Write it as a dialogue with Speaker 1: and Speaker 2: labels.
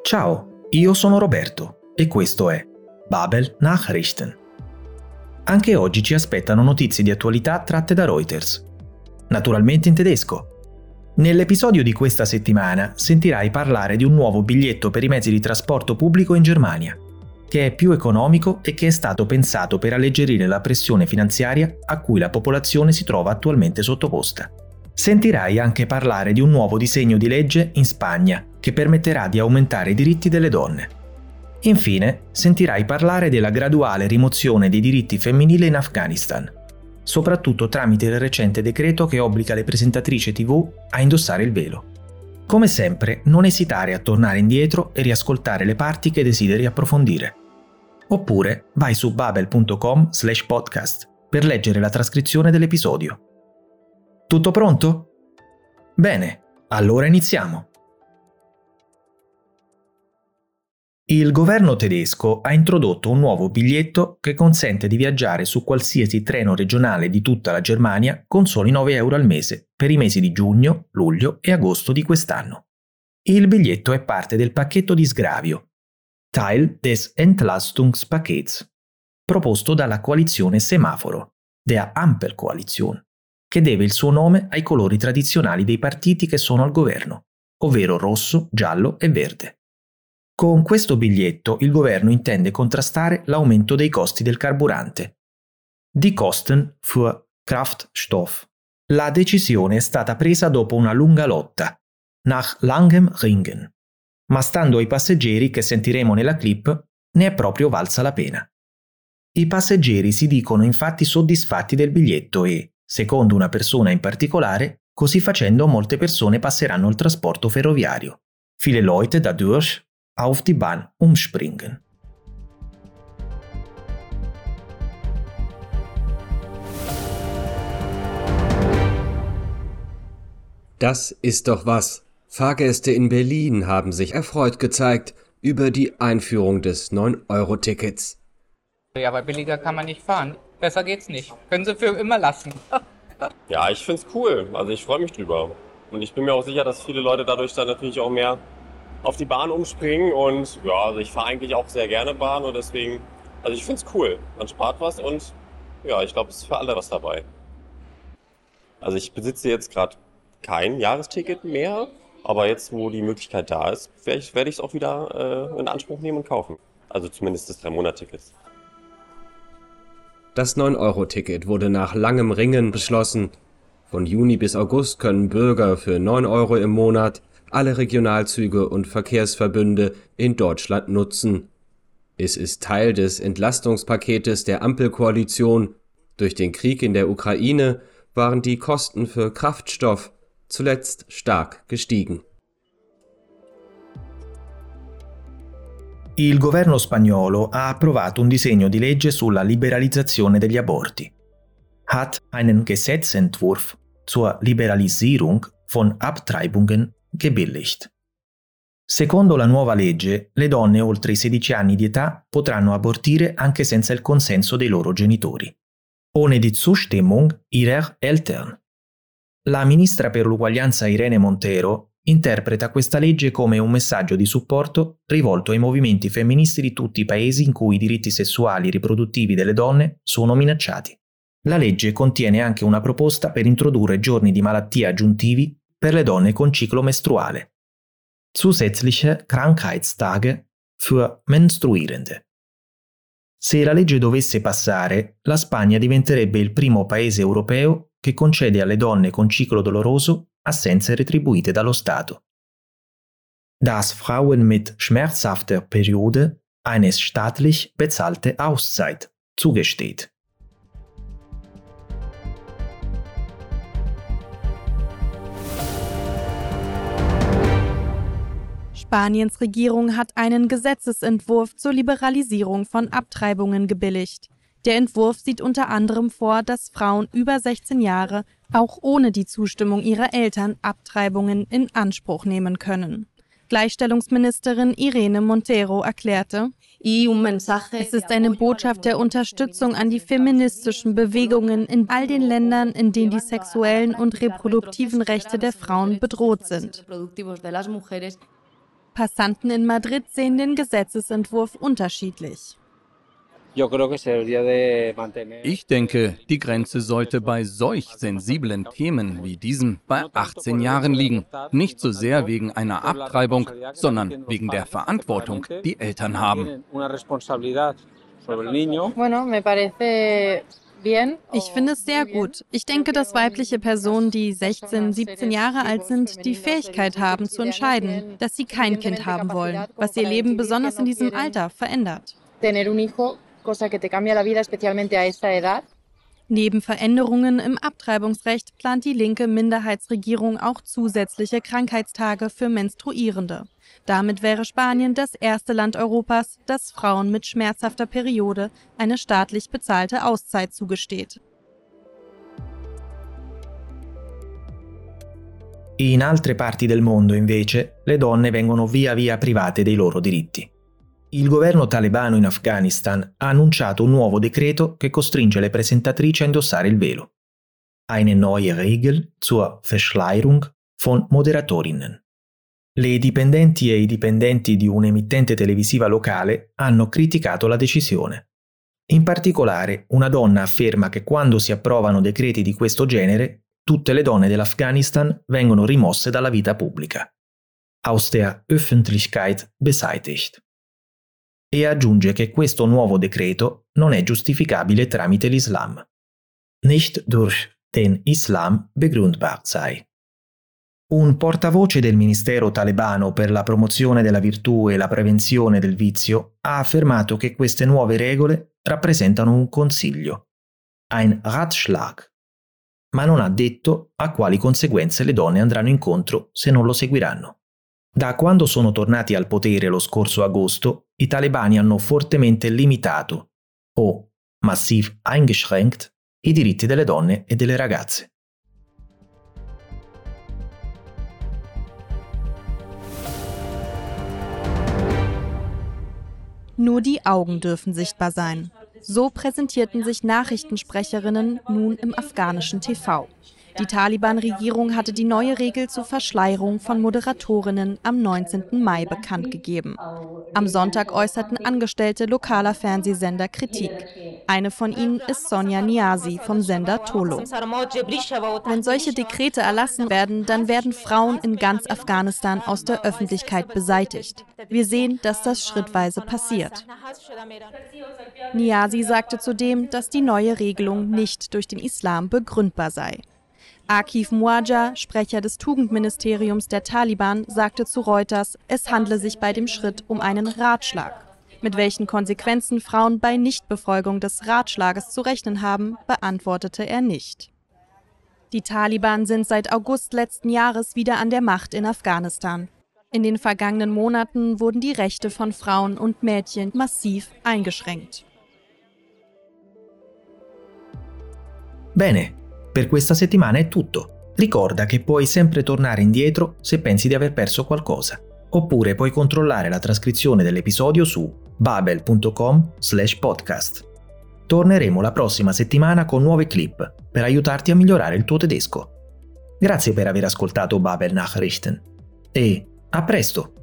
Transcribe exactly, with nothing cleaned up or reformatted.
Speaker 1: Ciao, io sono Roberto e questo è Babel Nachrichten. Anche oggi ci aspettano notizie di attualità tratte da Reuters, naturalmente in tedesco. Nell'episodio di questa settimana sentirai parlare di un nuovo biglietto per i mezzi di trasporto pubblico in Germania, che è più economico e che è stato pensato per alleggerire la pressione finanziaria a cui la popolazione si trova attualmente sottoposta. Sentirai anche parlare di un nuovo disegno di legge in Spagna che permetterà di aumentare i diritti delle donne. Infine, sentirai parlare della graduale rimozione dei diritti femminili in Afghanistan, soprattutto tramite il recente decreto che obbliga le presentatrici tivù a indossare il velo. Come sempre, non esitare a tornare indietro e riascoltare le parti che desideri approfondire. Oppure vai su babel punto com slash podcast per leggere la trascrizione dell'episodio. Tutto pronto? Bene, allora iniziamo. Il governo tedesco ha introdotto un nuovo biglietto che consente di viaggiare su qualsiasi treno regionale di tutta la Germania con soli nove euro al mese per i mesi di giugno, luglio e agosto di quest'anno. Il biglietto è parte del pacchetto di sgravio, Teil des Entlastungspakets, proposto dalla coalizione Semaforo, der Ampelkoalition, che deve il suo nome ai colori tradizionali dei partiti che sono al governo, ovvero rosso, giallo e verde. Con questo biglietto il governo intende contrastare l'aumento dei costi del carburante. Die Kosten für Kraftstoff. La decisione è stata presa dopo una lunga lotta, nach langem Ringen, ma stando ai passeggeri che sentiremo nella clip, ne è proprio valsa la pena. I passeggeri si dicono infatti soddisfatti del biglietto e, secondo una persona in particolare, così facendo molte persone passeranno al trasporto ferroviario. Viele Leute dadurch auf die Bahn umspringen.
Speaker 2: Das ist doch was. Fahrgäste in Berlin haben sich erfreut gezeigt über die Einführung des neun Euro Tickets.
Speaker 3: Ja, aber billiger kann man nicht fahren. Besser geht's nicht. Können Sie für immer lassen.
Speaker 4: Ja, ich find's cool. Also ich freue mich drüber. Und ich bin mir auch sicher, dass viele Leute dadurch dann natürlich auch mehr auf die Bahn umspringen. Und ja, also ich fahre eigentlich auch sehr gerne Bahn und deswegen, also ich find's cool. Man spart was und ja, ich glaube, es ist für alle was dabei. Also ich besitze jetzt gerade kein Jahresticket mehr, aber jetzt, wo die Möglichkeit da ist, werde ich es auch wieder äh, in Anspruch nehmen und kaufen. Also zumindest das drei Monat Tickets.
Speaker 2: Das neun Euro Ticket wurde nach langem Ringen beschlossen. Von Juni bis August können Bürger für neun Euro im Monat alle Regionalzüge und Verkehrsverbünde in Deutschland nutzen. Es ist Teil des Entlastungspaketes der Ampelkoalition. Durch den Krieg in der Ukraine waren die Kosten für Kraftstoff zuletzt stark gestiegen.
Speaker 1: Il governo spagnolo ha approvato un disegno di legge sulla liberalizzazione degli aborti. Hat einen Gesetzentwurf zur Liberalisierung von Abtreibungen gebilligt. Secondo la nuova legge, le donne oltre i sedici anni di età potranno abortire anche senza il consenso dei loro genitori. Ohne die Zustimmung ihrer Eltern. La ministra per l'uguaglianza Irene Montero interpreta questa legge come un messaggio di supporto rivolto ai movimenti femministi di tutti i paesi in cui i diritti sessuali e riproduttivi delle donne sono minacciati. La legge contiene anche una proposta per introdurre giorni di malattia aggiuntivi per le donne con ciclo mestruale. Zusätzliche Krankheitstage für Menstruierende. Se la legge dovesse passare, la Spagna diventerebbe il primo paese europeo che concede alle donne con ciclo doloroso assenze retribuite dallo Stato. Dass Frauen mit schmerzhafter Periode eine staatlich bezahlte Auszeit zugesteht.
Speaker 5: Spaniens Regierung hat einen Gesetzesentwurf zur Liberalisierung von Abtreibungen gebilligt. Der Entwurf sieht unter anderem vor, dass Frauen über sechzehn Jahre auch ohne die Zustimmung ihrer Eltern Abtreibungen in Anspruch nehmen können. Gleichstellungsministerin Irene Montero erklärte: Es ist eine Botschaft der Unterstützung an die feministischen Bewegungen in all den Ländern, in denen die sexuellen und reproduktiven Rechte der Frauen bedroht sind. Passanten in Madrid sehen den Gesetzesentwurf unterschiedlich.
Speaker 6: Ich denke, die Grenze sollte bei solch sensiblen Themen wie diesem bei achtzehn Jahren liegen. Nicht so sehr wegen einer Abtreibung, sondern wegen der Verantwortung, die Eltern haben.
Speaker 5: Ich finde es sehr gut. Ich denke, dass weibliche Personen, die sechzehn, siebzehn Jahre alt sind, die Fähigkeit haben zu entscheiden, dass sie kein Kind haben wollen, was ihr Leben besonders in diesem Alter verändert. Neben Veränderungen im Abtreibungsrecht plant die linke Minderheitsregierung auch zusätzliche Krankheitstage für Menstruierende. Damit wäre Spanien das erste Land Europas, das Frauen mit schmerzhafter Periode eine staatlich bezahlte Auszeit zugesteht.
Speaker 1: In altre parti del mondo, invece, le donne vengono via via private dei loro diritti. Il governo talebano in Afghanistan ha annunciato un nuovo decreto che costringe le presentatrici a indossare il velo. Eine neue Regel zur Verschleierung von Moderatorinnen. Le dipendenti e i dipendenti di un'emittente televisiva locale hanno criticato la decisione. In particolare, una donna afferma che quando si approvano decreti di questo genere, tutte le donne dell'Afghanistan vengono rimosse dalla vita pubblica. Aus der Öffentlichkeit beseitigt. E aggiunge che questo nuovo decreto non è giustificabile tramite l'Islam. Nicht durch den Islam begründbar sei. Un portavoce del ministero talebano per la promozione della virtù e la prevenzione del vizio ha affermato che queste nuove regole rappresentano un consiglio, ein Ratschlag, ma non ha detto a quali conseguenze le donne andranno incontro se non lo seguiranno. Da quando sono tornati al potere lo scorso agosto, i talebani hanno fortemente limitato, o massiv eingeschränkt, i diritti delle donne e delle ragazze.
Speaker 5: Nur die Augen dürfen sichtbar sein. So präsentierten sich Nachrichtensprecherinnen nun im afghanischen T V. Die Taliban-Regierung hatte die neue Regel zur Verschleierung von Moderatorinnen am neunzehnten Mai bekannt gegeben. Am Sonntag äußerten Angestellte lokaler Fernsehsender Kritik. Eine von ihnen ist Sonja Niazi vom Sender Tolo. Wenn solche Dekrete erlassen werden, dann werden Frauen in ganz Afghanistan aus der Öffentlichkeit beseitigt. Wir sehen, dass das schrittweise passiert. Niazi sagte zudem, dass die neue Regelung nicht durch den Islam begründbar sei. Akif Muaja, Sprecher des Tugendministeriums der Taliban, sagte zu Reuters, es handle sich bei dem Schritt um einen Ratschlag. Mit welchen Konsequenzen Frauen bei Nichtbefolgung des Ratschlages zu rechnen haben, beantwortete er nicht. Die Taliban sind seit August letzten Jahres wieder an der Macht in Afghanistan. In den vergangenen Monaten wurden die Rechte von Frauen und Mädchen massiv eingeschränkt.
Speaker 1: Bene. Per questa settimana è tutto. Ricorda che puoi sempre tornare indietro se pensi di aver perso qualcosa. Oppure puoi controllare la trascrizione dell'episodio su babel punto com slash podcast. Torneremo la prossima settimana con nuove clip per aiutarti a migliorare il tuo tedesco. Grazie per aver ascoltato Babel Nachrichten e a presto!